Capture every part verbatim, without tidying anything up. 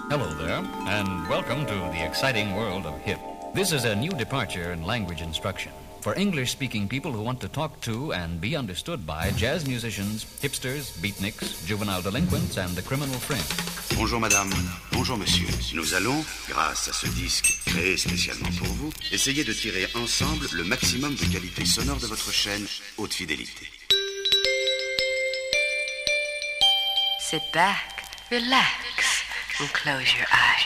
Hello there, and welcome to the exciting world of hip. This is a new departure in language instruction for English-speaking people who want to talk to and be understood by jazz musicians, hipsters, beatniks, juvenile delinquents, and the criminal fringe. Bonjour madame, bonjour monsieur. Nous allons, grâce à ce disque créé spécialement pour vous, essayer de tirer ensemble le maximum de qualité sonore de votre chaîne haute fidélité. Sit back, relax, and close your eyes.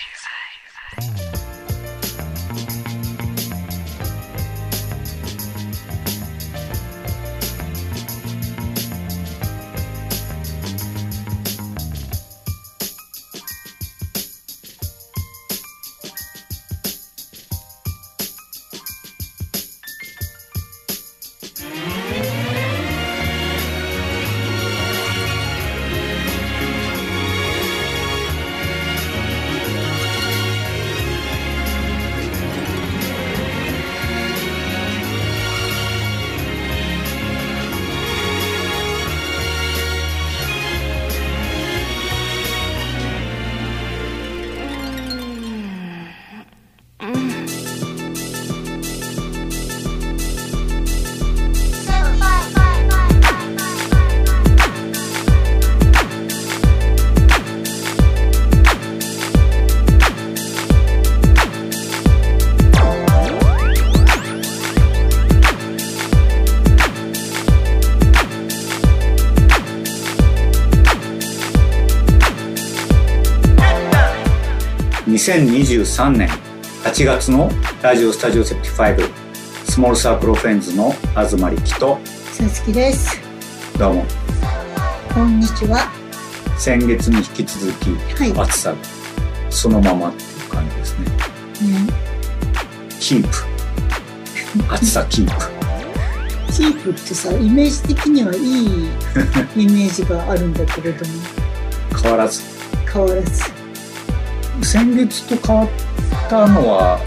にせんにじゅうさんねんはちがつのラジオスタジオセプティファイブスモールサークルフレンズの東力とさつきです。 どうもこんにちは。 先月に引き続き、はい、暑さそのままっていう感じですね。ねキープ暑さキープキープってさ、イメージ的にはいいイメージがあるんだけれども変わらず変わらず先月と変わったのは、はい、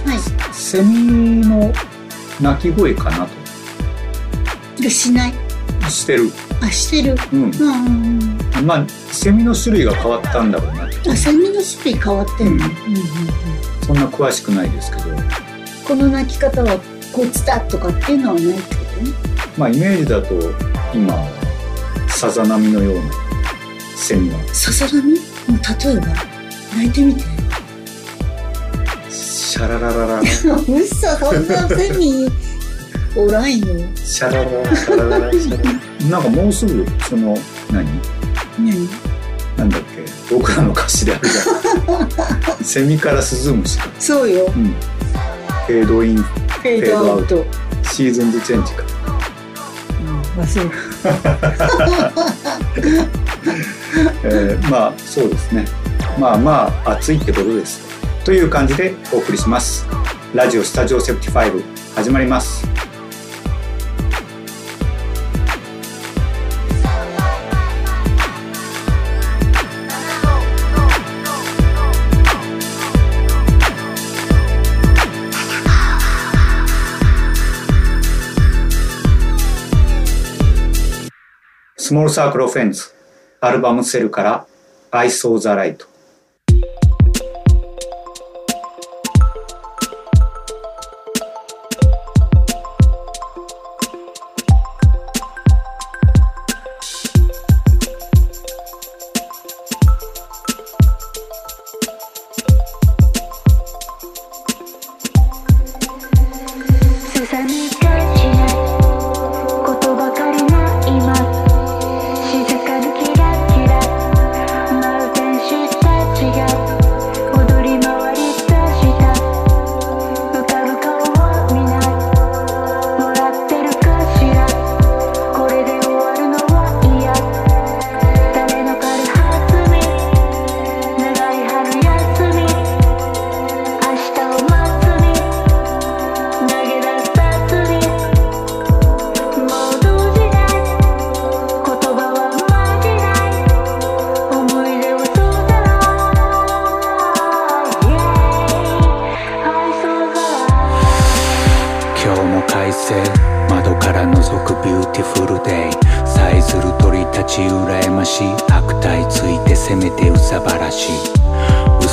セミの鳴き声かなと。 しないしてるあしてる、 うん、うんうん、まあセミの種類が変わったんだろうな。 あセミの種類変わってんの、うんうんうん、 そんな詳しくないですけど、 この鳴き方はこうつだとかっていうのはないってことね。 まあイメージだと今さざ波のようなセミはさざ波？もう例えば鳴いてみて。 シャララララうっそ、そんなセミおらんよ。 シャラララシャラララシャララなんかもうすぐその何何なんだっけ僕らの歌詞であるじゃんセミからスズムシか。 そうよ、うん、 フェードインフェードアウトシーズンズチェンジか、 うん、忘れえー、まあそうですね。まあまあ暑いってことですという感じでお送りします。ラジオスタジオセプティファイブ始まります。スモールサークルオフェンズアルバムセルからI Saw the Light。窓から覗くビューティフルデイ、さえずる鳥たち羨ましい、悪態ついてせめてうさばらしい、う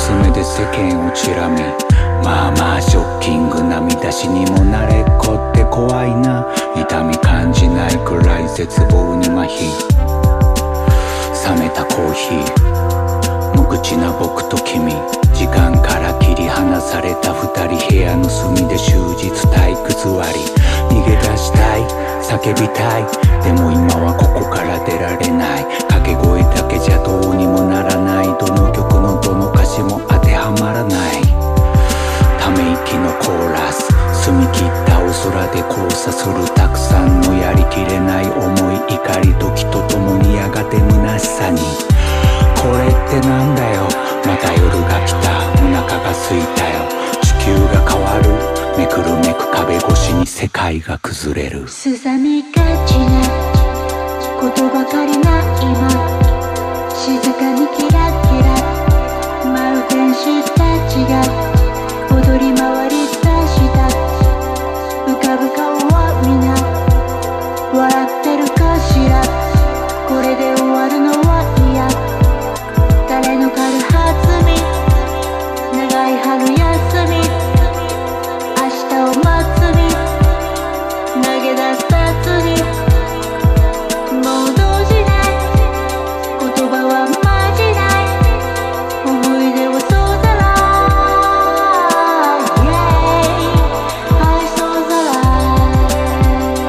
目で世間をチラ見、まあまあショッキングな見出しにも慣れっこって怖いな。痛み感じないくらい絶望に麻痺、冷めたコーヒー、無口な僕と君、時間から切り離された二人、部屋の隅で終日体育座り、逃げ出したい叫びたい、でも今はここから出られない、掛け声だけじゃどうにもならない、どの曲のどの歌詞も当てはまらない、ため息のコーラス、澄み切ったお空で交差するたくさんのやりきれない思い、怒り時とともにやがて虚しさに、これってなんだよ、また夜が来た、お腹が空いたよ、地球が変わる、めくるめく壁越しに世界が崩れる。 すさみがちなことばかりな今、静かにキラキラ舞う天使たちが踊り回り出した、浮かぶ顔は皆笑ってるかしら、これで終わるのは嫌、誰の軽はずみ、長い春休み、明日を待つに投げ出さずに、もう動じない、言葉はまじない、思い出をそうだら、I saw the light,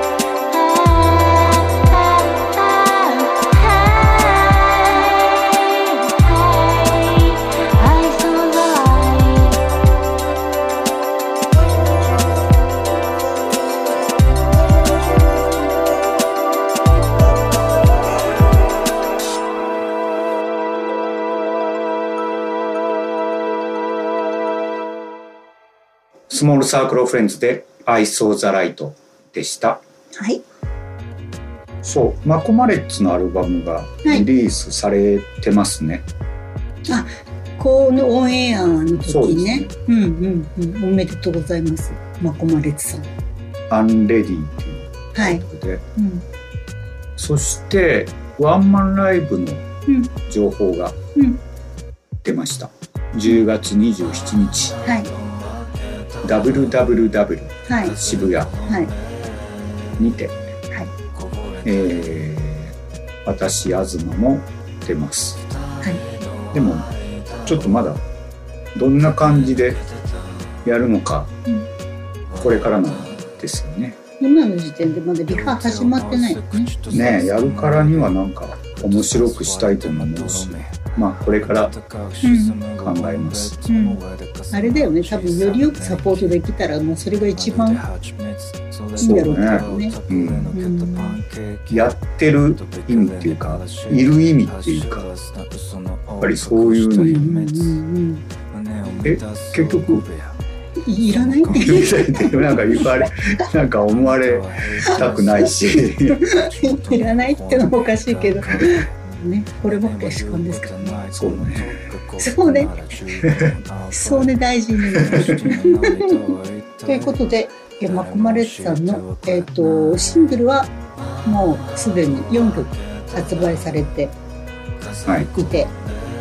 I saw the light。 スモールサークルフレンズで I saw the light でした。 はい。 そう、マコマレッツのアルバムがリリースされてますね。 はい、あ、このオンエアの時ね。 ね、 うんうんうん。おめでとうございます。マコマレッツさん。 アンレディっていうことで。 はい。うん、 そしてワンマンライブの情報が出ました。うん、じゅうがつにじゅうしちにち。はい。ダブリューダブリューダブリュー、はい、渋谷にて、はい、えー、私東も出ます、はい、でもちょっとまだどんな感じでやるのか、うん、これからなんですよね。 今の時点でまだリハ始まってないよね。 ねえ、やるからにはなんか面白くしたいと思うし、まあこれから考えます、 うんうん、あれだよね、多分よりよくサポートできたらもうそれが一番いいんだろうけどね、うんうん、 やってる意味っていうかいる意味っていうかやっぱりそういうのに、うんうん、え結局いらないってなんか言われなんか思われたくないしいらないってのもおかしいけどね、これも主観ですからね。 そうね。 そうね。そうね、大事に。ということで、マコマレッツさんの、えーと、シングルはもうすでによんきょく発売されていて、はい、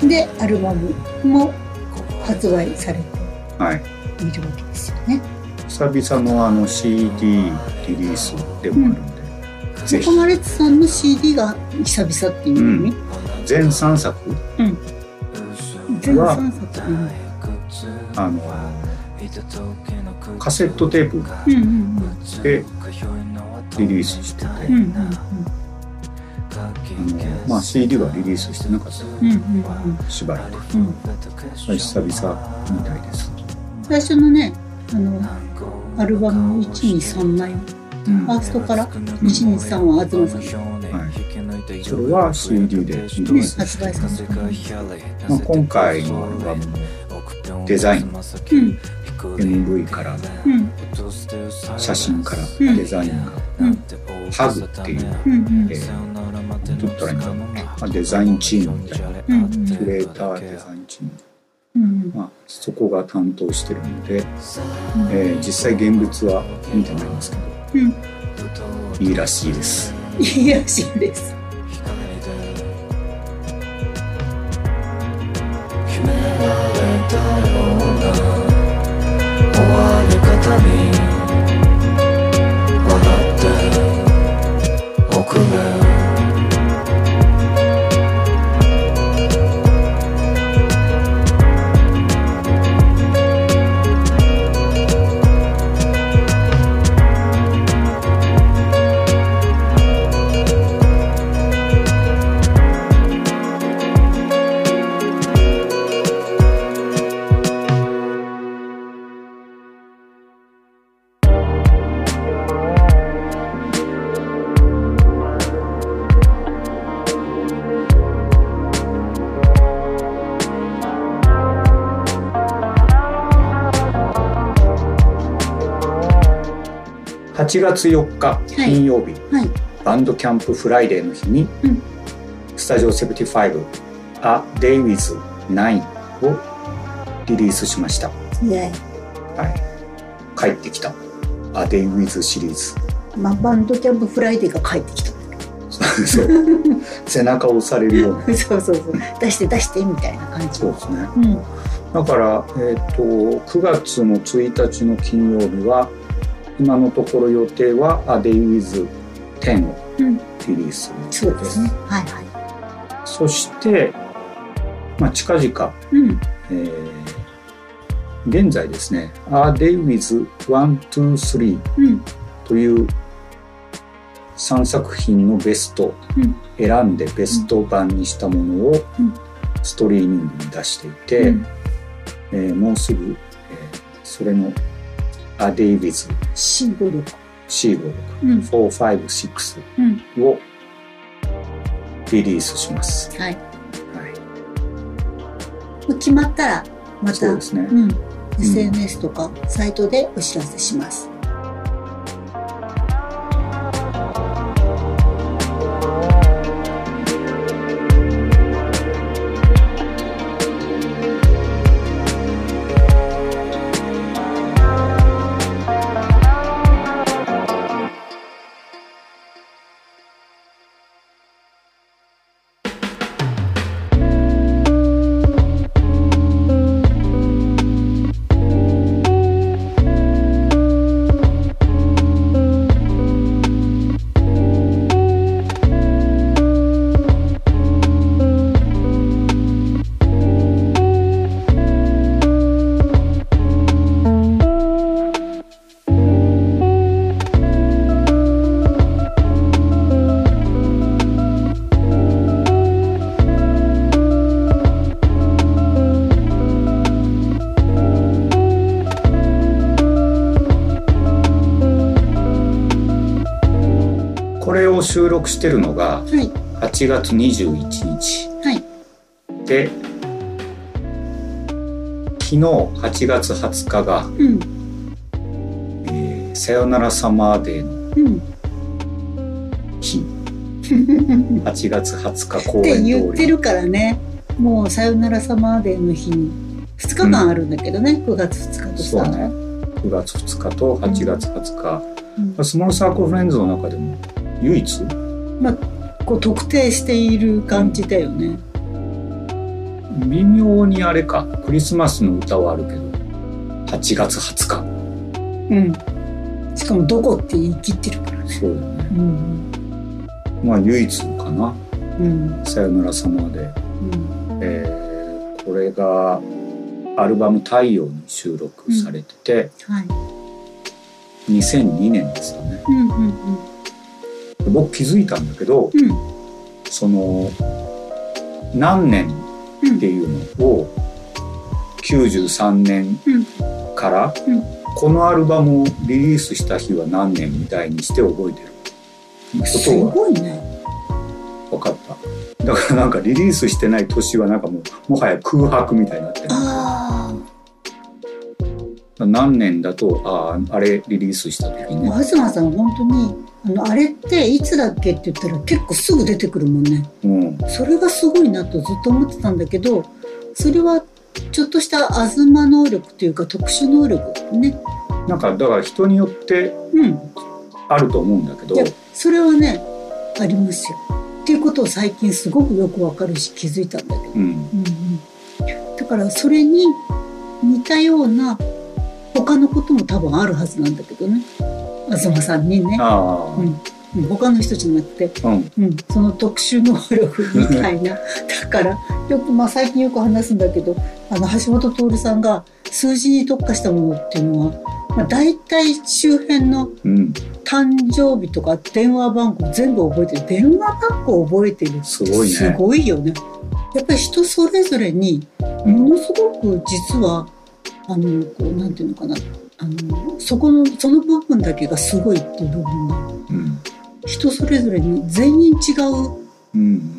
で、アルバムも発売されているわけですよね。 久々のあの シーディー リリースでもあるんで。うんマコマレッツさんの シーディー が久々っていう意味、うん、 全さんさく、うん、 全さんさく、うん、 あのカセットテープでリリースしてて、うんうんうん、あのまあ、シーディー はリリースしてなかった、うんうんうん、しばらく、うん、久々みたいです。 最初のねあのアルバムいちにさんまいファーストからいちにさんは東さん、はい、 それは シーディー で、 ね、発売された、 まあ、今回のアルバムのデザイン、うん、エムブイ から、うん、写真から、うん、デザインが、うん、ハグっていう、うんうんえー、どう言ったらいいんだろう、まあ、デザインチームみたいな、うんうん、クリエイターデザインチーム、うんまあ、そこが担当してるので、うんえー、実際現物は見てないんですけどうん、いいらしいです。 いいらしいです。 夢に笑っておくれはちがつよっか金曜日、 はいはい、 バンドキャンプフライデーの日に、うん、スタジオななじゅうご A Day with ナインをリリースしました、 yeah. はい、帰ってきた A Day with シリーズ、 まあ、バンドキャンプフライデーが帰ってきたそう背中を押されるようなそうそうそう出して出してみたいな感じ。 そうですね、うん、だから、えー、とくがつのついたちの金曜日は今のところ予定は A Day with テンをリリースです、 うん、そうですね、はいはい、 そして、まあ、近々、うんえー、現在ですね A Day with ワン、ツー、スリー、うん、というさんさく品のベスト、うん、選んでベスト版にしたものをストリーミングに出していて、うんえー、もうすぐ、えー、それの A Day with シーごじゅうろくシーごじゅうろく、うん、よん、ご、ろくをリリースします、 はい、はい、決まったらまたそうですね、 うん、エスエヌエス とかサイトでお知らせします、収録してるのがはちがつにじゅういちにち、はい、で昨日はちがつはつかが、うんえー、さよならサマーデーの日、うん、はちがつはつか公演通りって言ってるからね、もうさよならサマーデーの日にふつかかんあるんだけどね、うん、くがつふつかとさ、 そうね、くがつふつかとはちがつはつか、うん、スモールサークルフレンズの中でも唯一、 まあ、こう特定している感じだよね。 微妙にあれか、クリスマスの歌はあるけどはちがつはつか、うん、 しかもどこって言い切ってるからね。 そうだよね、うん、まあ唯一かな、うん、さよならサマーで、うんえー、これがアルバム太陽に収録されてて、うんはい、にせんにねんですよね、うんうんうん、僕気づいたんだけど、うん、その何年っていうのをきゅうじゅうさんねんから、うんうん、このアルバムをリリースした日は何年みたいにして覚えてることすごいね。 分かった。だからなんかリリースしてない年はなんかもうもはや空白みたいになってる。あ何年だと あ, あれリリースした時ね。 東さん本当にあのあれっていつだっけって言ったら結構すぐ出てくるもんね、うん、それがすごいなとずっと思ってたんだけど、それはちょっとした東能力というか特殊能力ね。 なんかだから人によってあると思うんだけど、うん、いやそれはねありますよっていうことを最近すごくよくわかるし気づいたんだけど、うんうんうん、だからそれに似たような他のことも多分あるはずなんだけどね、東さんにね。あ、うん、他の人じゃなくて、うんうん、その特殊能力みたいなだからよく、まあ、最近よく話すんだけど、あの橋本徹さんが数字に特化したものっていうのは、まあ、大体周辺の誕生日とか電話番号全部覚えてる。電話番号覚えてるってすごいね。すごいよね。やっぱり人それぞれにものすごく実はあのこうなんていうのかな、あのそこのその部分だけがすごいっていう部分が、うん、人それぞれに全員違う、うん、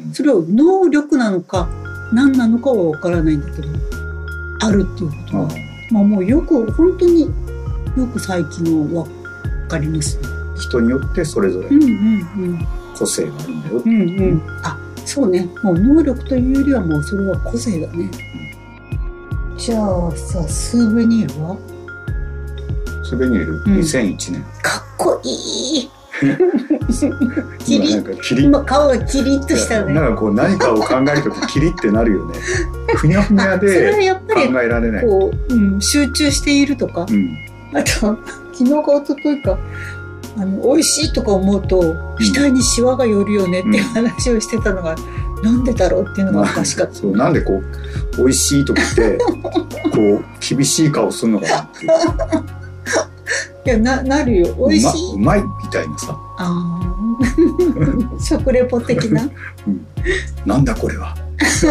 それは能力なのか何なのかは分からないんだけどあるっていうことは、まあ、もうよく本当によく最近は分かりますね。 人によってそれぞれ個性があるんだよ、 うんうん、あ、そうね。もう能力というよりはもうそれは個性だね、うん、じゃあさ、スーベニールはスーベニール、うん、にせんいちねん。 かっこいいキリッ、今顔がキリッとしたね。 なんかこう何かを考えるときキリってなるよね。ふにゃふにゃで考えられない。 こう、うん、集中しているとか、うん、あと昨日か一昨日かあの美味しいとか思うと額にシワが寄るよねっていう話をしてたのが、うん、なんでだろうっていうのがおかしかった。 そう、なんでこう美味しいとかってこう厳しい顔するのかなっていう。 いや な, なるよ。美味しい、 うま、うまいみたいなさ。 あ食レポ的な、 うん、なんだこれは。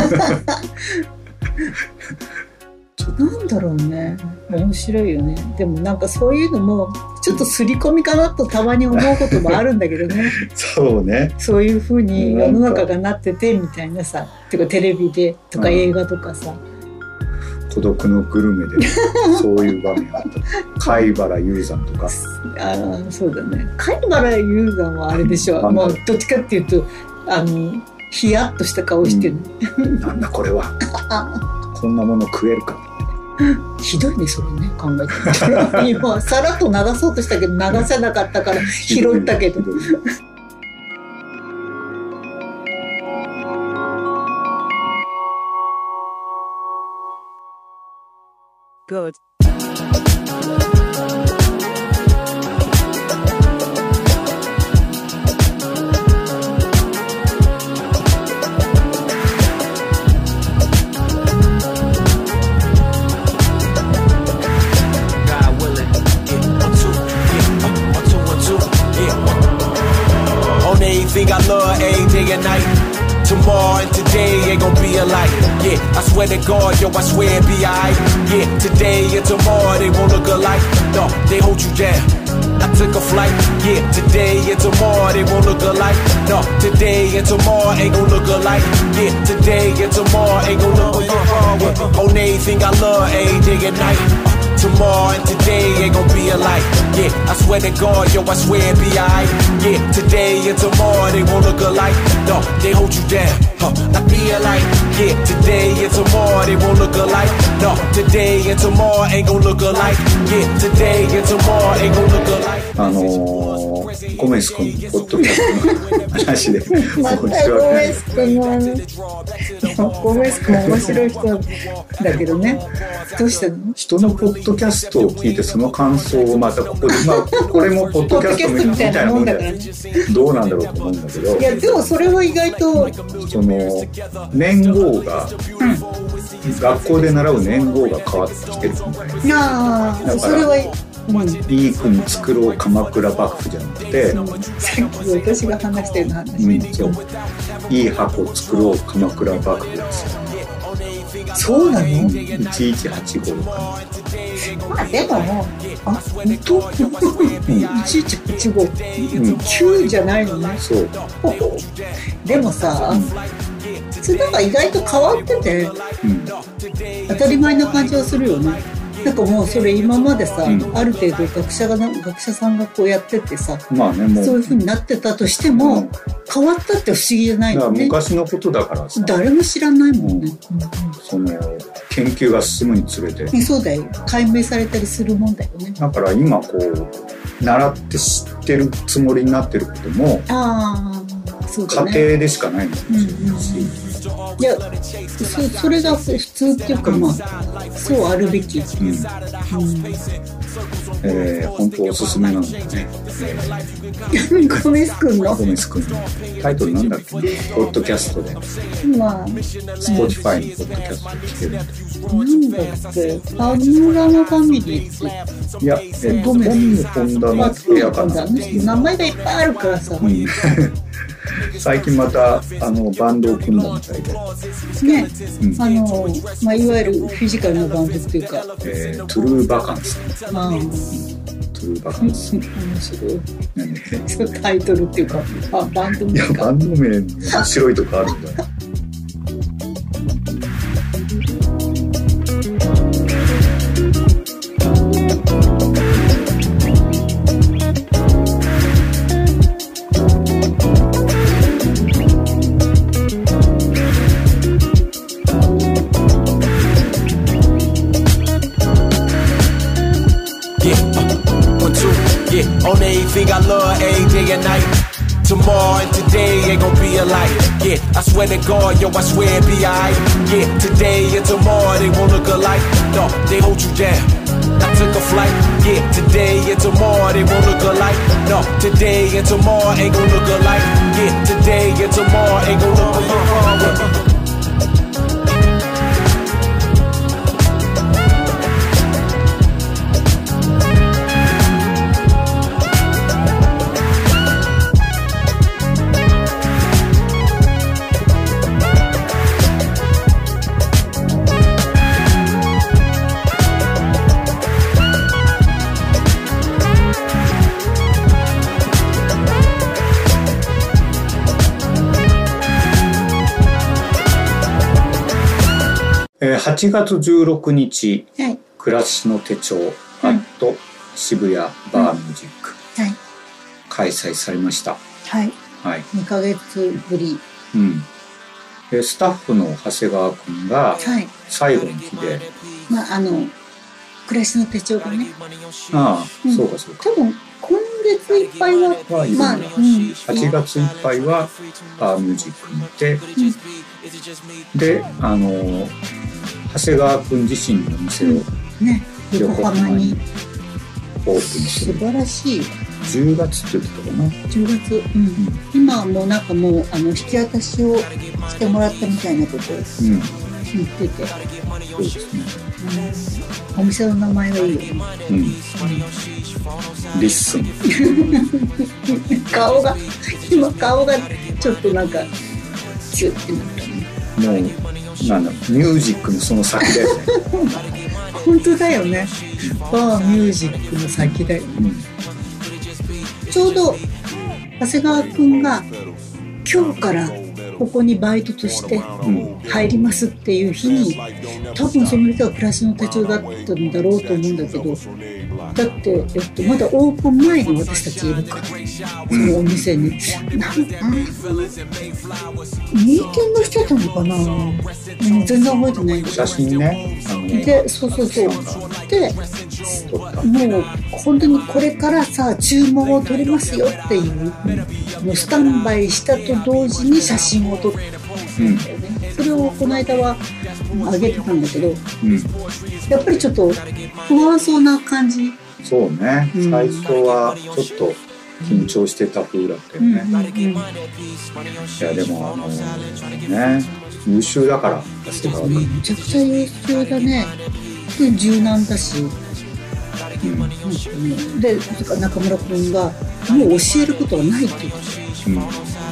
なんだろうね、面白いよね。でもなんかそういうのもちょっと刷り込みかなとたまに思うこともあるんだけどね。 そうね。 そういう風に世の中がなっててみたいなさ、てかテレビでとか映画とかさ、 うん、孤独のグルメでそういう場面あった。貝原雄山とか。 ああ、そうだね。貝原雄山はあれでしょ。うん、もうどっちかっていうとあのヒヤッとした顔してる、 うん、なんだこれは。こんなもの食えるか。 ひどいね、それね、考えてみて。今さらっと流そうとしたけど流せなかったから拾ったけど。Good. Anything I love every day and night. Tomorrow and today ain't gon' be alike. Yeah, I swear to God, yo, I swear it be alright. Yeah, today and tomorrow they won't look alike. No, they hold you down. I took a flight. Yeah, today and tomorrow they won't look alike. No, today and tomorrow ain't gon' look alike. Yeah, today and tomorrow ain't gon' look alike. On anything I love every day and night. Tomorrow and today ain't gon' be alike. Yeah, I swear to God, yo, I swear it be alright. Yeah, today and tomorrow they won't look alike. No, they hold you down. Huh, I be alike. Yeah, today and tomorrow they won't look alike. No, today and tomorrow ain't gon' look alike. Yeah, today and tomorrow ain't gon' look alike. あのー、ゴメス君のポッドキャストの話でまたゴメス君の話。ゴメス君面白い人だけどね。どうしたの？ 人のポッドキャストを聞いてその感想をまたここで、まあ、これもポッドキャストみたいなもんだからね。どうなんだろうと思うんだけど。 いやでもそれは意外とその年号が、うん、学校で習う年号が変わってきてるみたいな。 ああ、それは。 うん、いい国作ろう鎌倉幕府じゃなくて、うん、 さっき私が話してるの話、 うん、そういい箱作ろう鎌倉幕府ですよ。 そうなの？いちいちはちごかな。 まあでもあ本当、うん、いちいちはちご、うん、きゅうじゃないのね。 そうでもさ、うん、それなんか意外と変わってて、うん、当たり前な感じはするよね。なんかもうそれ今までさ、うん、ある程度学者が学者さんがこうやっててさ、まあね、もうそういう風になってたとしても、うん、変わったって不思議じゃないよね。 昔のことだからさ誰も知らないもんね、うんうん、その研究が進むにつれてそうだよ、解明されたりするもんだよね。 だから今こう習って知ってるつもりになってることもあそうだ、ね、家庭でしかないのかもしれないし、うんうん、 いや そ, それが普通っていうか、まあそうあるべき、うんうんえー、本当おすすめなんだよね、えー、ゴメス君のゴメス君のタイトルなんだっけ、ポッドキャストで、 まあ、 Spotify のポッドキャストで聞けるんだなんだっけ、パノラマファミリーって、 いや、えー、ゴメスホンダの部屋かな、 名前がいっぱいあるからさ、うん、 最近またあのバンドを組んだみたいでね、うん、あの、まあ、いわゆるフィジカルなバンドっていうか、 えー、トゥルーバカンス、 あ、うん、 トゥルーバカンス、 面白い、何そのタイトルっていうか、あ、バンド名か、 いやバンド名面白いとこあるんだ Tomorrow and today ain't gon' be alike. Yeah, I swear to God, yo, I swear it be alright. Yeah, today and tomorrow they won't look alike. No, they hold you down. I took a flight. Yeah, today and tomorrow they won't look alike. No, today and tomorrow ain't gon' look alike. Yeah, today and tomorrow ain't gon' look alike. はちがつじゅうろくにち、 はい、 暮らしの手帳アット渋谷バーミュージック、 はい、 開催されました。 はい。 はい。 にかげつぶり。 うん。でスタッフの長谷川くんが最後の日で、はい、 まああの暮らしの手帳がね。 ああ、うん、そうかそうか。 多分今月いっぱいは、はまあ、うん、 はちがついっぱいはバーミュージックにいて、うん、であの長谷川くん自身のお店を、うんね、横浜にオープンして、 素晴らしい。 じゅうがつって言ってたかな。 じゅうがつ、うんうん、今はもうなんかもうあの引き渡しをしてもらったみたいなことを言ってて、うん、 そうですね、 うん、お店の名前はいいよね、 うん、リッスン顔が今顔がちょっとなんかキュッてなったね。 もうなんだミュージックのその先だよね本当だよね、バーミュージックの先だよ、うん、ちょうど長谷川くんが今日からここにバイトとして入りますっていう日に、多分その人は暮らしの手帳だったんだろうと思うんだけど、だって、えっと、まだオープン前に私たちいるから、そのお店になんかミーティングしてたのかな、うん、全然覚えてないんだけど、 写真ね、あので、そうそうそうで、もう本当にこれからさ注文を取りますよっていう、うん、スタンバイしたと同時に写真を撮ってたんだよね、うん、それをこの間は上げてたんだけど、うん、やっぱりちょっと不安そうな感じ。 そうね、うん、最初はちょっと緊張してた風だったよね、うんうんうん、いやでもあのね優秀だから長谷川君めちゃくちゃ優秀だね。で柔軟だし、うん、で中村君がもう教えることはないって言ってた、うん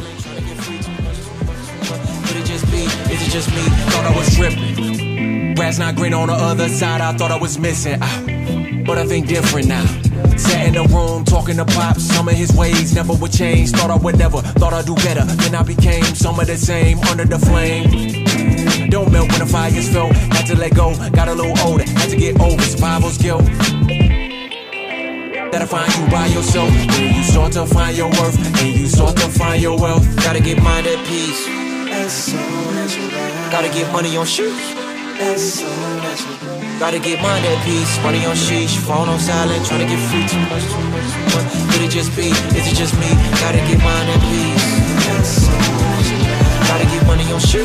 Grass not green on the other side, I thought I was missing out, but I think different now. Sat in the room talking to Pops, some of his ways never would change. Thought I would never, thought I'd do better. Then I became some of the same, under the flame. Don't melt when the fire's filled, had to let go, got a little older, had to get over survival's guilt. That'll find you by yourself, when you start to find your worth, and you start to find your wealth. Gotta get mind at peace, as soon as you learn. Gotta get money on shoes, as soon as you learn. Gotta get mind at peace, money on sheesh, phone on silent, trying to get free. Too much, too much, too much. Could it just be, is it just me? Gotta get mind at peace, as soon as you learn. Gotta get money on shoot.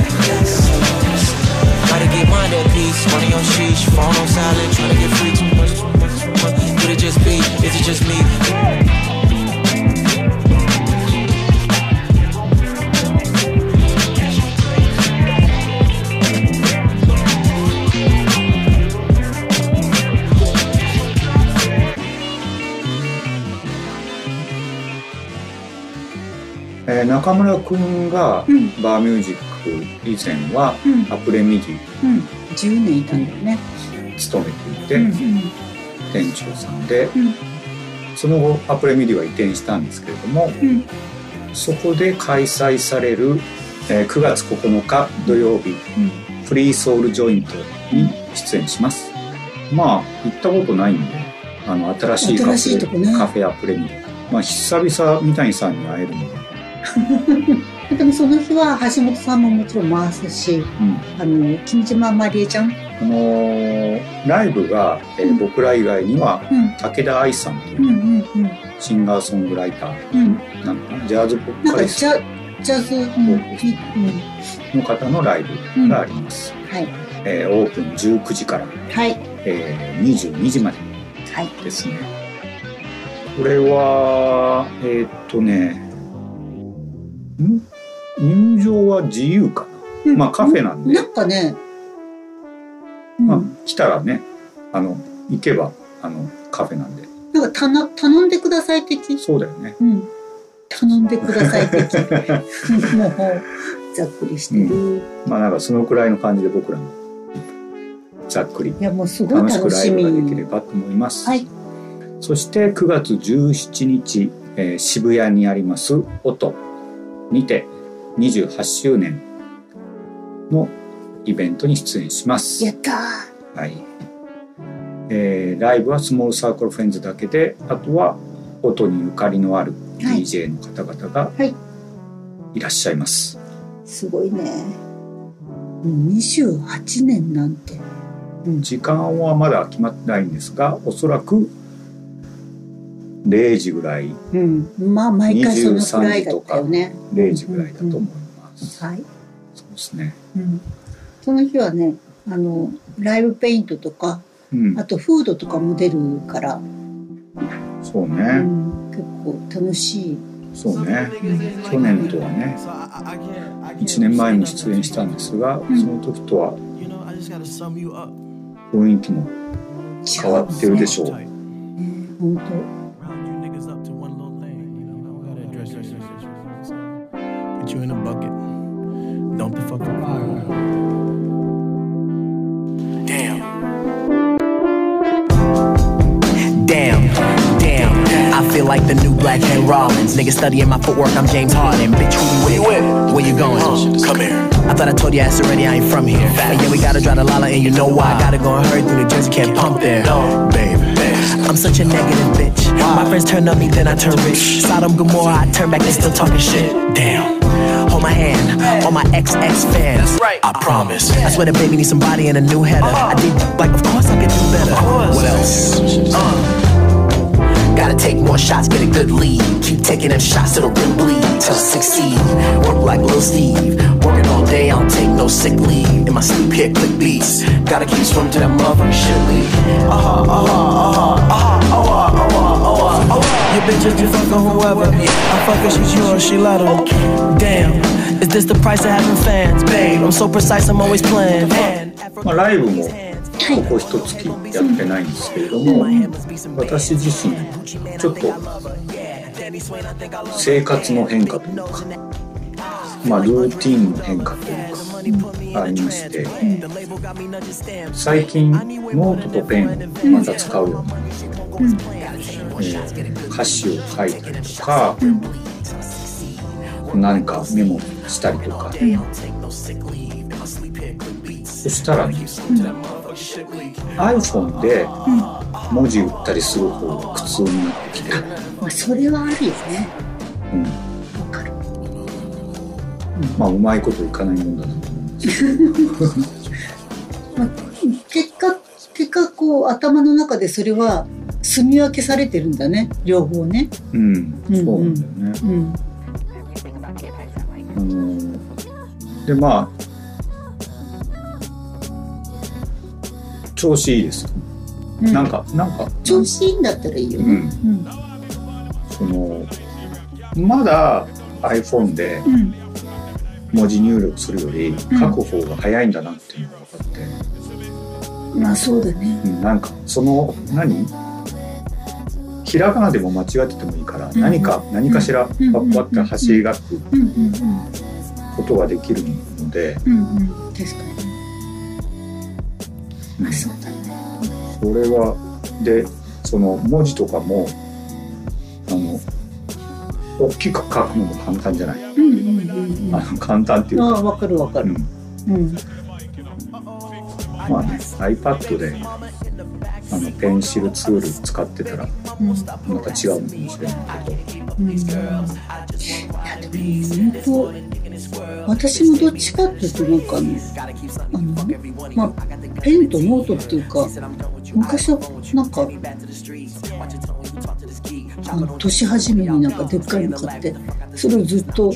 Gotta get mind at peace. Money on sheesh. Phone on silent. Tryna get free too much, too much, too much. Could it just be? Is it just me? えー、中村くんがバーミュージック以前はアプレミディ、 うんうん、じゅうねんいたんだよね、 勤めていて、うんうん、店長さんで、うん、その後アプレミディは移転したんですけれども、うん、そこで開催される、えー、くがつここのか土曜日、うん、フリーソウルジョイントに出演します。まあ行ったことないんで、あの新しいカフェ、 新しいとこね、 カフェアプレミディ、まあ久々三谷さんに会えるのででもその日は橋本さんももちろん回すし、うん、あの君島まりえちゃん、 あのー、ライブが、えーうん、僕ら以外には、うん、武田愛さんという、うんうんうん、シンガーソングライター、うん、なんかジャズポップカリスト、 ジャズ、うん、 の方のライブがあります、うん、はい、えー、オープンじゅうくじから、 はい、 えー、にじゅうにじまでですね、はい、これはえー、っとねん入場は自由かな、うん、まあカフェなんで、 なんかね、 うん、まあ来たらね、あの行けばあのカフェなんで、 なんかたな頼んでください的、 そうだよね、 うん、頼んでください的もうざっくりしてる、うん、 まあなんかそのくらいの感じで僕らもざっくりいやもうすごい楽しみ、 楽しくライブができればと思います、 はい、 そしてくがつじゅうしちにち、えー、渋谷にあります音にてにじゅうはちしゅうねんのイベントに出演します。 やったー、 はい、えー、ライブはスモールサークルフレンズだけで、あとは音にゆかりのある ディージェー の方々がいらっしゃいます、はいはい、 すごいね、にじゅうはちねんなんて、 うん、時間はまだ決まってないんですが、おそらくれいじぐらい、 うん、まあ毎回そのくらいだったよね。 れいじぐらいだと思います、 うんうんうん、はい、 そうですね、 うん、その日はね、あのライブペイントとか、うん、あとフードとかも出るから、 そうね、 うん、結構楽しい。 そうね、うん、去年とはねいちねんまえに出演したんですが、うん、その時とは雰囲気も変わってるでしょう、ね、 本当。 You in a bucket. Don't be fucking fire. Damn. Damn. Damn. I feel like the new Black Hen Rollins. Nigga studying my footwork, I'm James Harden. Bitch, who you with? Where you going? Uh, come here. I thought I told your ass already, I ain't from here. And yeah, we gotta drive to Lala and you know why. I gotta go and hurry through New Jersey, can't pump there. No, baby. I'm such a negative bitch. My friends turn on me, then I turn rich. Sodom Gomorrah, I turn back, they still talking shit. Damn. Hold my hand, all my X X fans. Right. I promise. I swear the baby needs somebody and a new header. Uh-huh. I did like, of course I could do better. What else? Uh. Gotta take more shots, get a good lead. Keep taking them shots till the rim bleed. Till I succeed. Work like Lil Steve. Working all day, I don't take no sick leave. In my sleep here, click beats. Gotta keep swimming to that motherfucking shit lead. Uh-huh, uh-huh, uh-huh, uh-huh, uh-huh, uh-huh, uh-huh, uh-huh. Your bitches be fucking whoever. I fuck her, she's yours, she let her. Damn, is this the price of having fans? Babe, I'm so precise, I'm always playing. まあライブもここ一月やってないんですけれども、私自身ちょっと生活の変化というか、まあルーティンの変化というかありまして、最近ノートとペンをまた使うようになって、えー、歌詞を書いたりとか、何かメモしたりとか、そしたらね、iPhone で文字打ったりする方が苦痛になってきて、 まあ、それはあるよね。 うん、わかる。まあうまいこといかないもんだなと思うんですけど、 まあ、結果結果こう頭の中でそれは住み分けされてるんだね、両方ね。 うん、そうなんだよね。うん、あのでまあ調子いいです、うん、なんかなんか調子いいんだったらいいよね、うんうん、 そのまだ iPhone で文字入力するより書く方が早いんだなっていうのが分かって、 うん、まあそうだね、 うん、なんかその何ひらがなでも間違っててもいいから、うん、何か何かしらパッパって走り書くことができるので、 うんうん、確かに、うん、あそうだね。 それはでその文字とかもあの大きく書くのも簡単じゃない、うんうんうんうん、あの簡単っていうか、 あ分かる分かる、うんうん、 まあね iPad であのペンシルツール使ってたら、うん、また違うのかもしれないけど、うん、いやでも本当私もどっちかっていうとなんかねあの、まあ、ペンとノートっていうか昔はなんかあの年始めになんかでっかいの買ってそれをずっと、うん、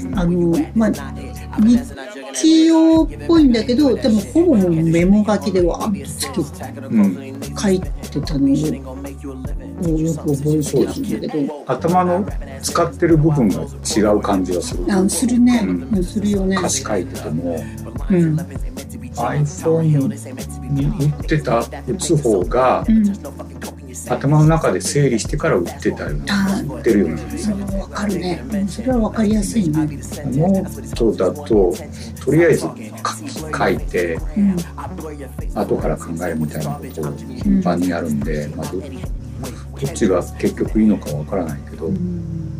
あのまあ日記用っぽいんだけどでもほぼメモ書きでわーっとつけて、うん、書いてたのをよく覚えてるんだけど頭の使ってる部分が違う感じがする。 あするね、うん、するよね。 歌詞書いてても、うん、iPhone に打ってた打つ方が、うん、頭の中で整理してから打ってたような打ってるような感じ。 それは分かるね。それは分かりやすいね。 ノートだととりあえず書いて、うん、後から考えるみたいなことを頻繁にやるんで、うんまあ、ど, どっちが結局いいのか分からないけど、うん、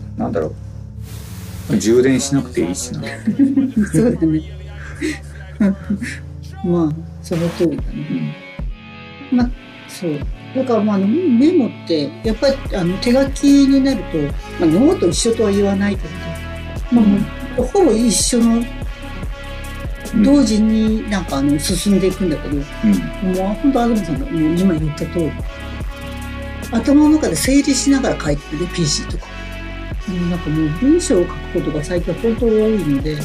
なんだろう充電しなくていいしなそうだねまあその通りだね、うん、まあそうだからまあメモってやっぱりあの手書きになると、まあ、ノート一緒とは言わないけど、まあ、もうほぼ一緒の同時になんかあの進んでいくんだけど、うん、もう本当アドムさんがもう今言った通り頭の中で整理しながら書いてるね ピーシー とかなんかもう文章を書くことが最近は本当多いので、うん、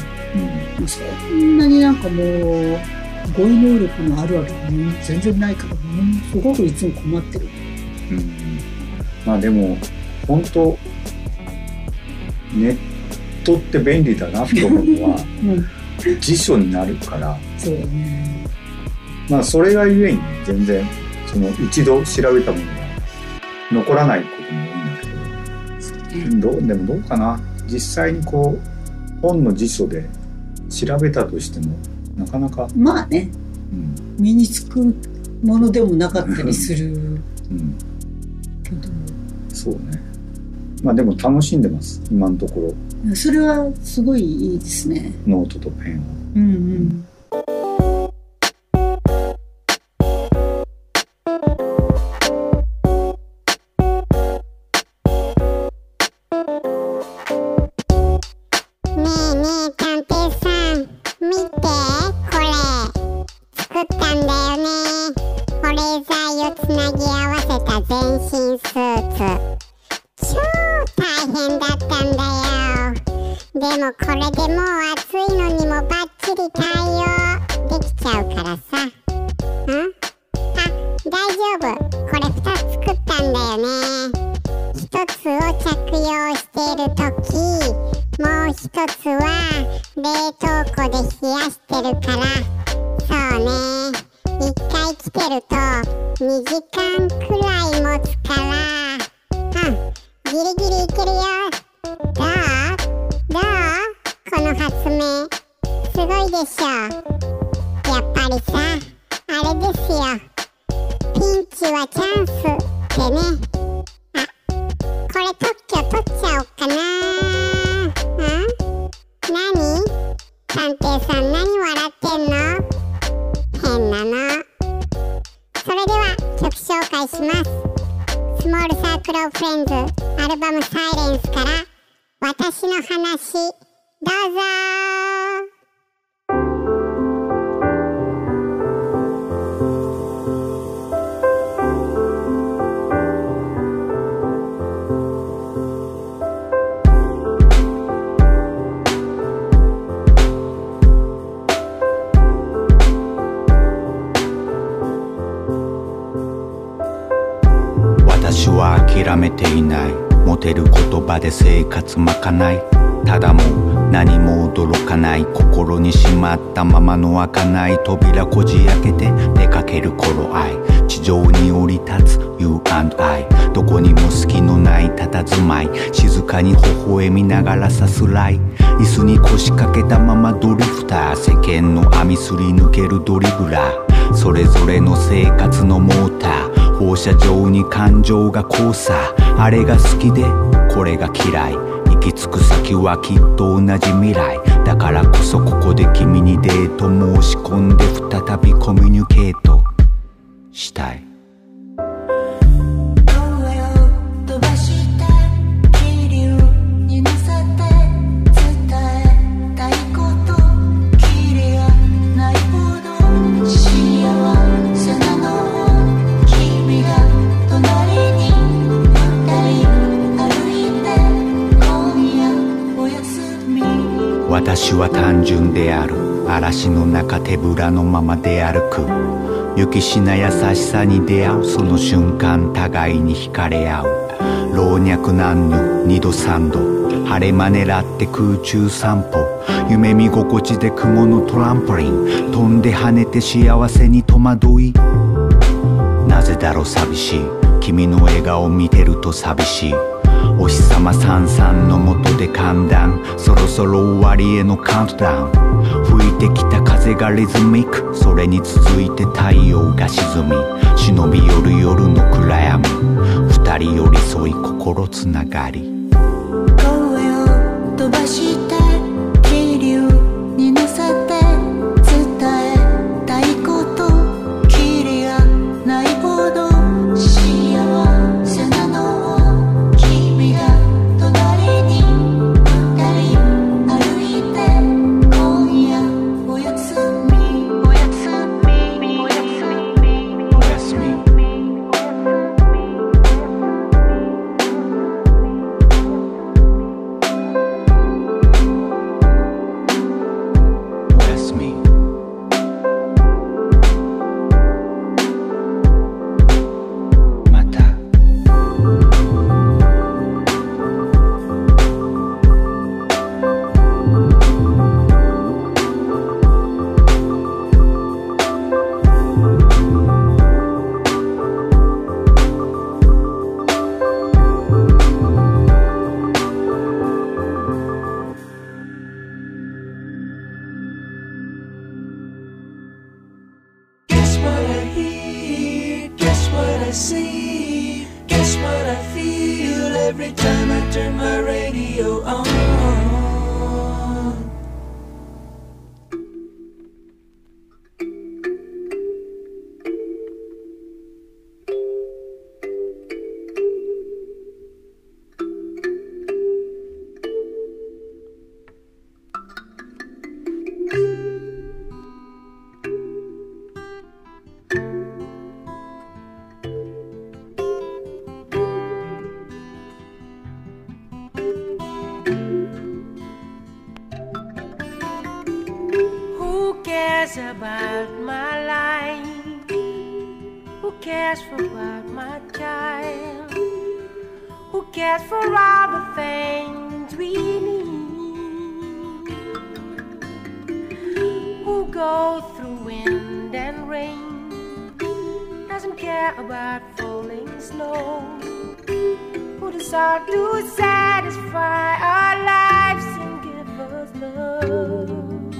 そんなになんかもう語彙能力のあるある全然ないから、ね、すごくいつも困ってる、 うん、まあでも本当ネットって便利だなと思うのは、うん、辞書になるからそうだねまあそれがゆえに全然その一度調べたものが残らないことも多いんだけど、どうでもどうかな実際にこう本の辞書で調べたとしてもなかなかまあね、うん、身につくものでもなかったりする、うん、けどそうねまあでも楽しんでます今のところそれはすごいいいですねノートとペンをうんうん私は諦めていない。持てる言葉で生活まかない。ただもう何も驚かない。心にしまったままの開かない扉こじ開けて出かける頃合い。地上に降り立つ You and I。 どこにも隙のない佇まい。静かに微笑みながらさすらい。椅子に腰掛けたままドリフター。世間の網すり抜けるドリブラー。それぞれの生活のモーター。放射状に感情が交差。あれが好きでこれが嫌い。行き着く先はきっと同じ未来。だからこそここで君にデート申し込んで再びコミュニケートしたい。私は単純である。嵐の中手ぶらのまま出歩く。雪しな優しさに出会う。その瞬間互いに惹かれ合う。老若男女二度三度。晴れ間狙って空中散歩。夢見心地で雲のトランポリン。飛んで跳ねて幸せに戸惑い。なぜだろう寂しい。君の笑顔見てると寂しい。お日様さんさんの下で寒暖。そろそろ終わりへのカウントダウン。吹いてきた風がリズミック。それに続いて太陽が沈み。忍び寄る夜の暗闇。二人寄り添い心つながり。 声を飛ばして気流に乗せて伝えたいこと。キリがないほど幸せなの。 About my life, who cares for about my child, who cares for all the things we need, who goes through wind and rain, doesn't care about falling snow, who desires to satisfy our lives and give us love.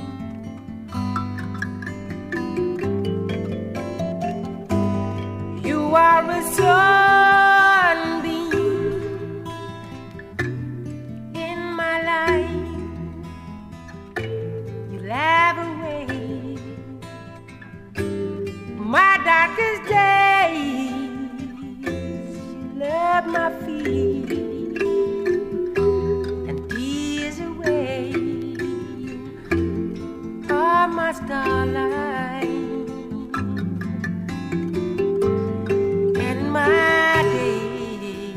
You are a sunbeam in my life. You laugh away my darkest days. You love my feet and ease away all my starlight. My day,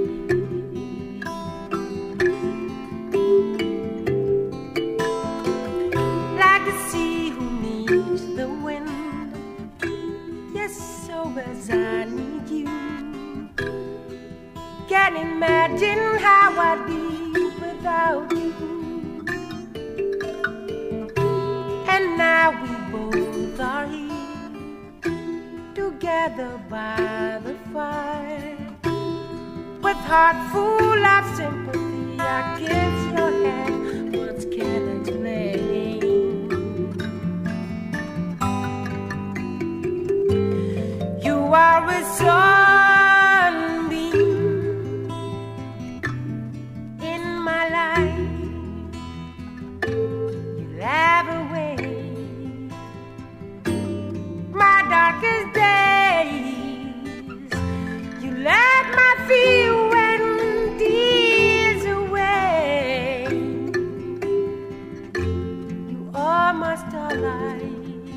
like the sea who needs the wind, yes, so as I need you, can't imagine how I'd be without you. And now we both are here together by the fire. With heart full of sympathy, I kiss your hand. What's can I explain? You are a sunbeam in my life. You laugh away my darkest days. You let my fear and tears away. You are my starlight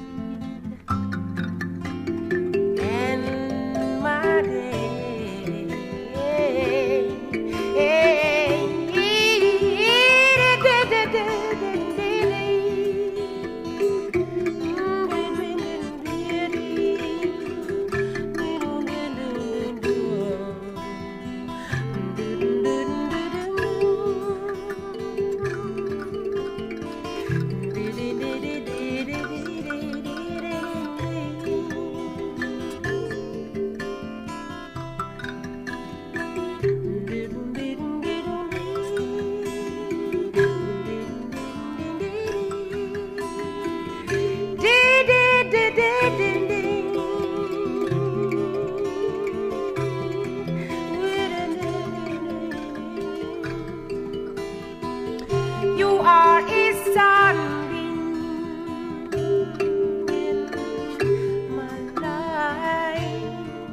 and my day. You are a sunbeam in my life.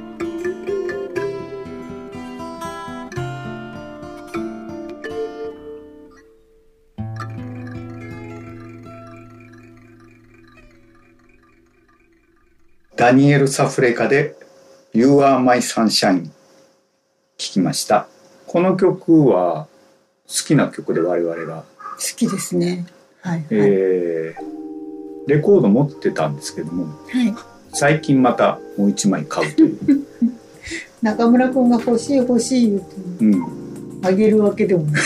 ダニエル・サフレカで You Are My Sunshine 聴きました。この曲は好きな曲で我々が好きですね。はい、はい、 えー、レコード持ってたんですけども、 はい、 最近またもう一枚買うという中村くんが欲しい欲しい言うて、うん、あげるわけでもない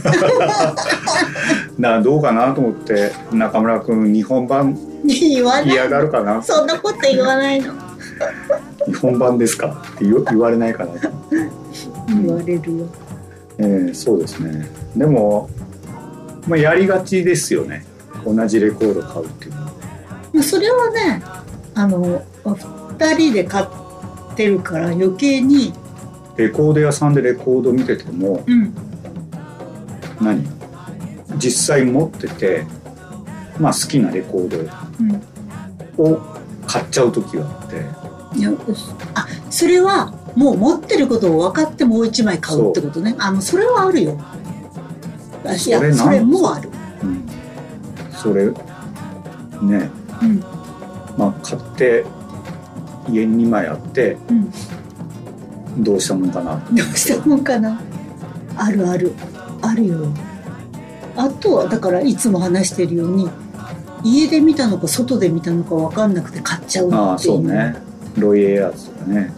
などうかなと思って、中村くん日本版言わない嫌がるかな。 そんなこと言わないの日本版ですかって言われないかなと言われるよ、 えー、そうですね。でも、まあ、やりがちですよね、同じレコード買うっていうのは。 それはね、あのふたりで買ってるから余計に。 レコード屋さんでレコード見てても、うん、何実際持ってて、まあ、好きなレコードを買っちゃう時があって、 うん、いやあそれはもう持ってることを分かってもう一枚買うってことね。あのそれはあるよ。いやそれ、それもある、うん、 それね、うん、まあ買って家ににまいあって、うん、どうしたもんかなどうしたもんかな。あるあるあるよ。あとはだからいつも話してるように、家で見たのか外で見たのか分かんなくて買っちゃうっていう。ああそうね、ロイ・エアーズとかね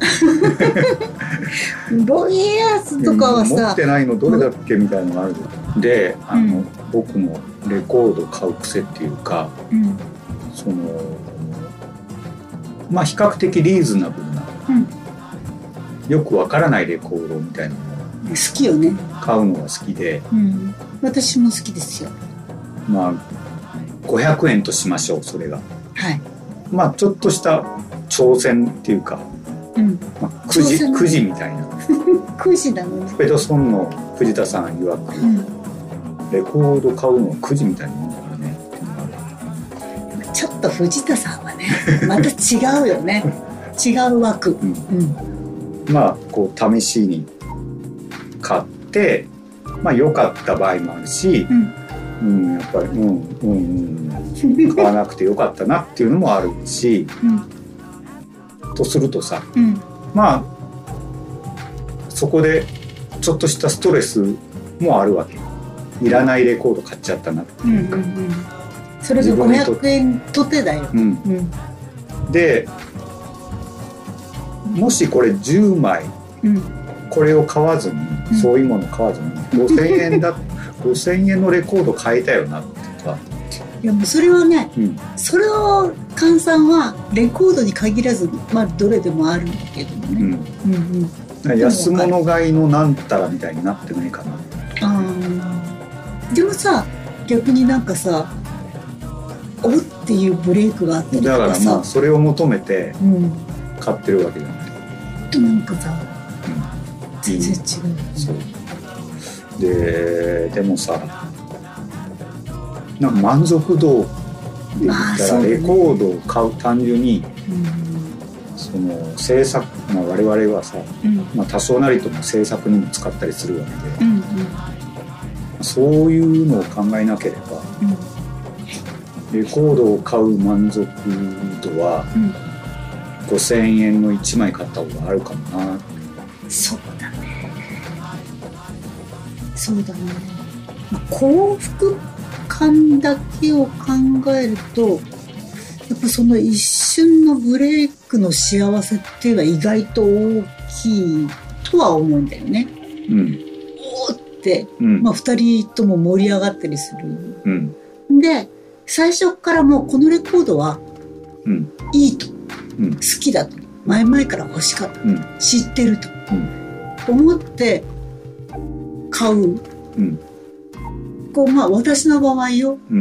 ロイ・エアーズとかはさ、持ってないのどれだっけみたいなのがあるで、あの、うん、僕のレコード買う癖っていうか、うん、そのまあ比較的リーズナブルな、うん、よくわからないレコードみたいなのを好きよね。 買うのが好きで、 うん、私も好きですよ。 まあごひゃくえんとしましょう、それが。 はい。 まあちょっとした挑戦っていうか、うんまあ、くじくじみたいなくじなのね。 ペドソンの藤田さん曰く、うん、レコード買うのはくじみたいなもんだからねっていうのがある。 ちょっと藤田さんはねまた違うよね違う枠、うんうん、まあこう試しに買ってまあ良かった場合もあるし、うん、うん、やっぱりうんうんうん買わなくて良かったなっていうのもあるし、うん、とするとさ、うん、まあそこでちょっとしたストレスもあるわけ。いらないレコード買っちゃったなっていうか、うんうんうん、 それがごひゃくえんとてだよ、うんうん、 でもしこれじゅうまい、うん、これを買わずにそういうもの買わずにごせんえんだごせんえんのレコード買えたよなってか。 いやもうそれはね、 うん、 それを換算はレコードに限らず、まあ、どれでもあるんだけどもね、うんうんうん、 安物買いのなんたらみたいになってないかな。 あでもさ逆になんかさおっていうブレイクがあったりとかさ、 だからまあそれを求めて買ってるわけじゃない、 うん、なんかさ、うん、全然違う、 そうででもさなんか満足度で言ったらレコードを買う単純に、その制作、まあ、我々はさ、うんまあ、多少なりとも制作にも使ったりするわけで、うんうん、そういうのを考えなければ、うん、レコードを買う満足度は、うん、ごせんえんのいちまい買った方があるかもな。 そうだねそうだね、まあ、幸福感だけを考えるとやっぱその一瞬のブレイクの幸せっていうのは意外と大きいとは思うんだよね、うん、おーって、うんまあ、ふたりとも盛り上がったりする、うん、で最初からもうこのレコードは、うん、いいと、うん、好きだと前々から欲しかった、うん、知ってると、うん、思って買う、うんこうまあ、私の場合よ、うん、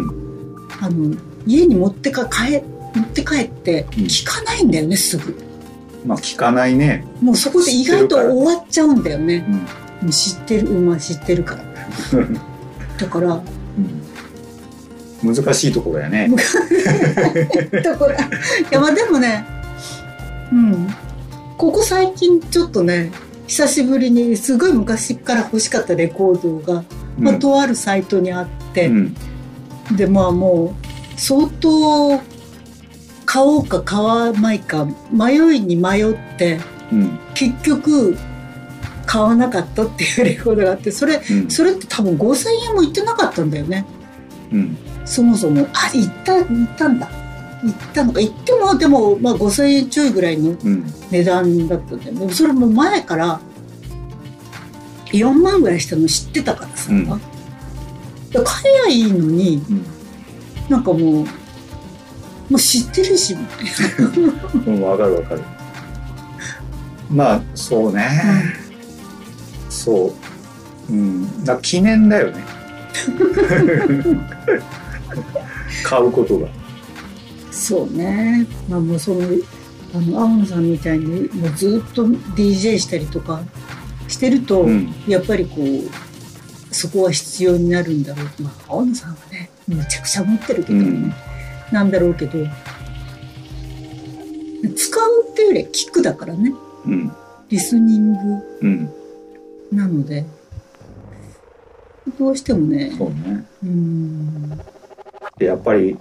あの家に持ってか帰持って帰って聞かないんだよね、うん、すぐ。 まあ聞かないね。 もうそこで意外と終わっちゃうんだよね。うん、知ってる、まあ知ってるから。だから、 うん、難しいところやね。 ところいやまあでもね、うん、ここ最近ちょっとね久しぶりにすごい昔から欲しかったレコードが。まあ、とあるサイトにあって、うん、でまあもう相当買おうか買わないか迷いに迷って、うん、結局買わなかったっていうレコードがあってそれ、うん、それって多分ごせんえんもいってなかったんだよね、うん、そもそもあいったいったんだいったのかいってもでも、まあ、ごせんえんちょいぐらいの値段だったんだよね、うん、それも前からよんまんぐらいしたの知ってたからさ、うん、買えばいいのに、うん、なんかもうもう知ってるしみたいなうん分かる分かるまあそうね、うん、そう、うん、だ記念だよね買うことがそうねまあもうそのあの青野さんみたいにもうずっと ディージェー したりとかしてると、うん、やっぱりこうそこは必要になるんだろう、まあ、青野さんはねめちゃくちゃ持ってるけど、ねうん、なんだろうけど使うっていうよりは聞くだからね、うん、リスニング、うん、なのでどうしてもねそうねうんでやっぱり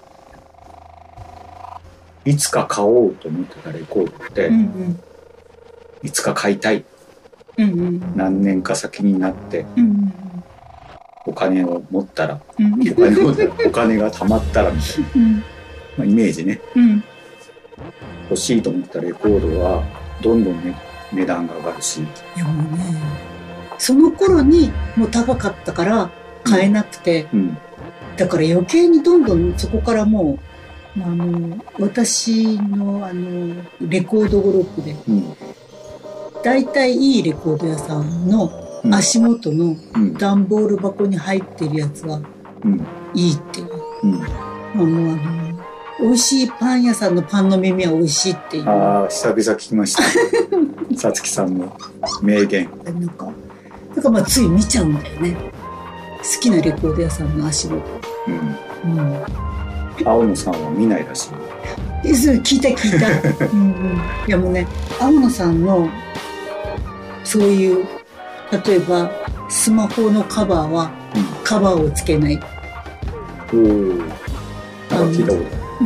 いつか買おうと思ってたレコードって、うんうん、いつか買いたいうんうん、何年か先になって、うんうん、お金を持ったら、うん、お金を持ったらお金が貯まったらみたいな、うんまあ、イメージね、うん、欲しいと思ったレコードはどんどん、ね、値段が上がるしいやもうねその頃にもう高かったから買えなくて、うん、だから余計にどんどんそこからもうあの私の、あのレコード語録で、うんだいたいいいレコード屋さんの足元の段ボール箱に入ってるやつはいいっていう、うんうんまあ、もうあの美味しいパン屋さんのパンの耳は美味しいっていうああ久々聞きましたさつきさんの名言なんかだからまあつい見ちゃうんだよね好きなレコード屋さんの足元、うんうん、 青野さんは見ないらしいそれ聞いた聞いた、うんうん、いやもうね青野さんのそういう例えばスマホのカバーはカバーをつけない、うん、おあ聞いた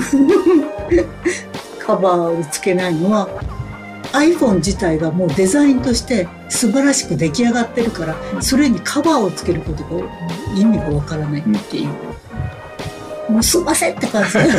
ことカバーをつけないのは iPhone 自体がもうデザインとして素晴らしく出来上がってるから、うん、それにカバーをつけることが意味がわからないっていう、うん、もうすいませんって感じ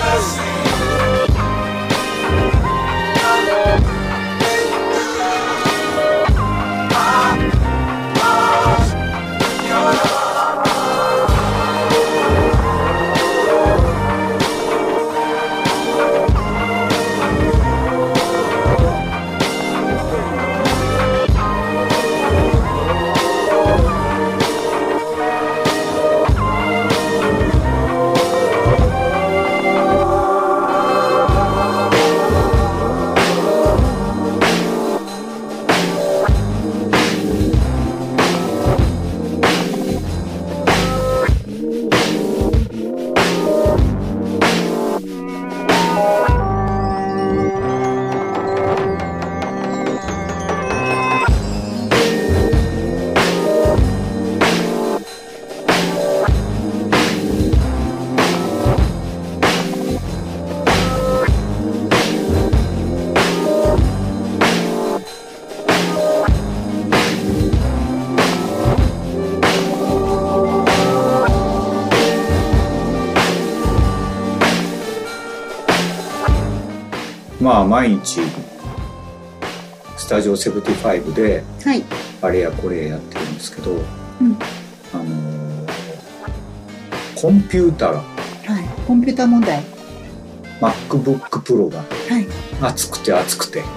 まあ毎日スタジオセブンティファイブであれやこれやってるんですけど、はい、あのー、コンピューターが、はい、 コンピューター問題 MacBook Pro が熱くて熱くて、 はい、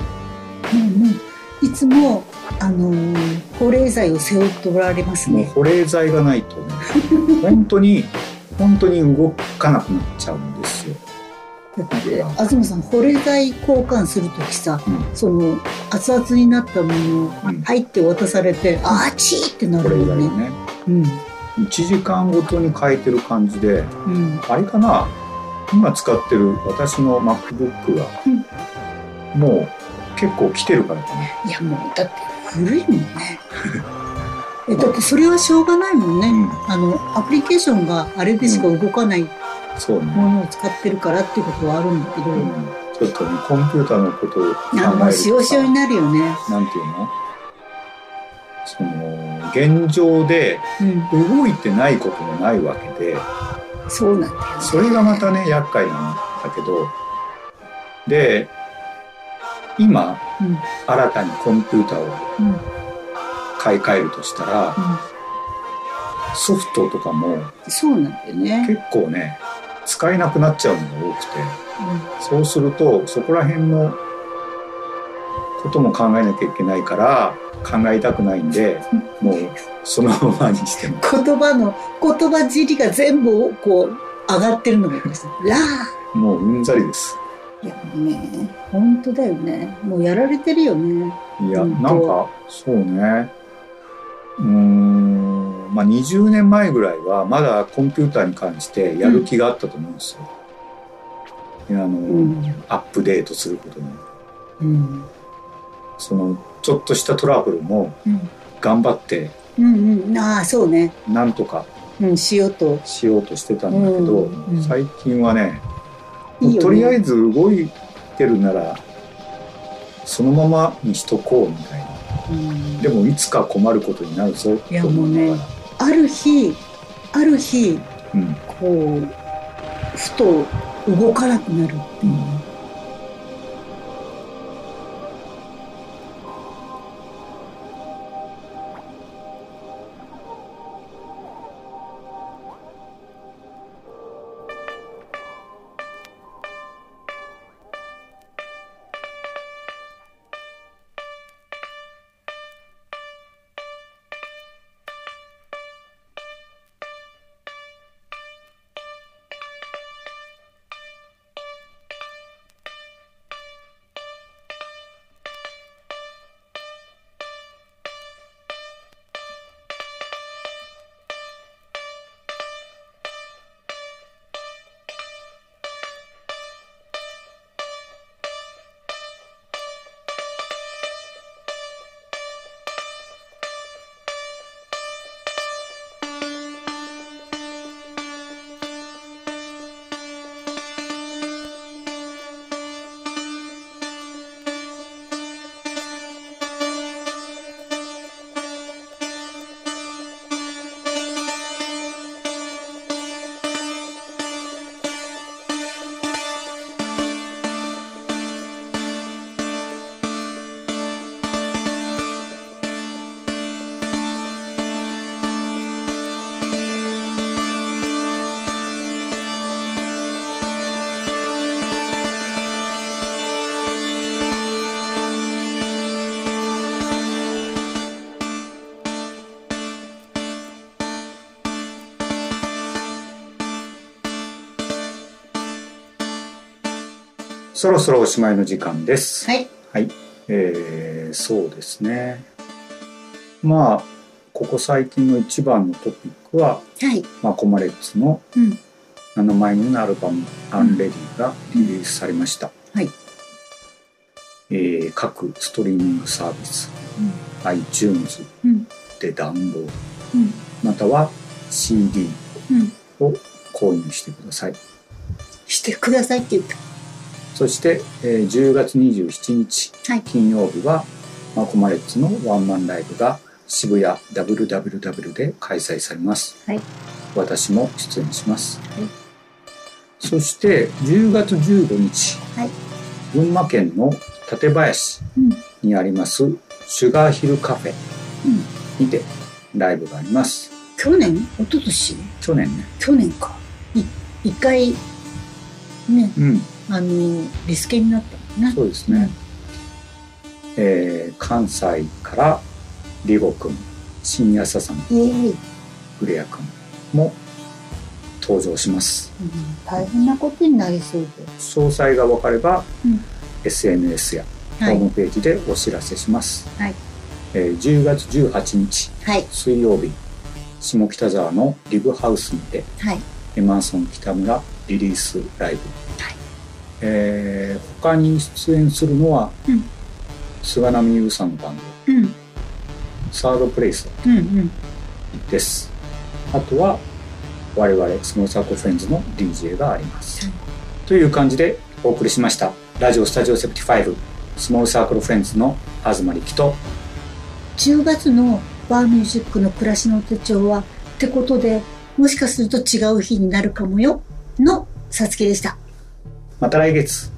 もうねいつもあのー、保冷剤を背負っておられますね。 もう保冷剤がないとね本当に本当に動かなくなっちゃうんですよ。 だって東さん保冷剤交換するときさ、うん、その熱々になったものを入って渡されて、うん、あーちーってなるよね。ね、 うん、いちじかんごとに変えてる感じで、うん、あれかな今使ってる私の MacBook が、うん、もう結構来てるからかな。 いやもうだって古いもんねえだってそれはしょうがないもんね、うん、あのアプリケーションがあれでしか動かない、うんそうね、ものを使ってるからっていうことはあるんだけど、うん、 ちょっとねコンピューターのことを考えるともうしおしおになるよね。 なんていうのその現状で動いてないこともないわけで、 うん、そうなんだよ、ね、 それがまたね厄介なんだけどで今、うん、新たにコンピューターを買い替えるとしたら、うん、ソフトとかもそうなんだよね結構ね使えなくなっちゃうのが多くて、うん、そうするとそこら辺のことも考えなきゃいけないから考えたくないんでもうそのままにしても言葉の言葉尻が全部こう上がってるのがいますラーもううんざりです。 いやもうね本当だよねもうやられてるよね。 いやなんかそうねうーんまあにじゅうねんまえぐらいはまだコンピューターに関してやる気があったと思うんですよ、うん、あの、うん、アップデートすることに、うん、そのちょっとしたトラブルも頑張って、 うんうん、ああそうねなんとか、 うん、しようとしようとしてたんだけど、うんうん、最近はねいいよねとりあえず動いてるならそのままにしとこうみたいな、うん、でもいつか困ることになるぞいやもうねある日ある日、うん、こうふと動かなくなるっていう、うんそろそろおしまいの時間です。 はい、 はい、えー、そうですね。まあここ最近の一番のトピックは、 はい、 マコマレッツのななまいめのアルバム「アンレディ」がリリースされました。 はい、 えー、各ストリーミングサービス、うん、iTunes でダウンロード、うん、または シーディー を購入してください。 してくださいって言った。 そして、えー、じゅうがつにじゅうしちにち、はい、金曜日はマコマレッツのワンマンライブが渋谷 ダブリューダブリューダブリュー で開催されます。はい、私も出演します。はい、そしてじゅうがつじゅうごにち、はい、群馬県の館林にあります、うん、シュガーヒルカフェにてライブがあります。 去年？一昨年？ 去年ね。 去年か。い一回ね、うん、あのリスケになったもんね。 そうですね。うん、えー、関西からリゴくん、新谷さん、グレアくんも登場します。 うん、大変なことになりそうで。 詳細が分かれば、うん、エスエヌエス やホームページでお知らせします。はい、えー、じゅうがつじゅうはちにち、はい、水曜日、下北沢のリブハウスにて、はい、エマーソン北村リリースライブ。はい、えー、他に出演するのは、うん、菅波優さんのバンド、うん、サードプレイスです。うんうん、あとは我々スモールサークルフレンズの ディージェー があります。うん、という感じでお送りしました。ラジオスタジオセプティファイブスモールサークルフレンズの東力と、 じゅうがつのバーミュージックの暮らしの手帳はってことで、もしかすると違う日になるかもよのさつきでした。 また来月。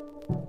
う。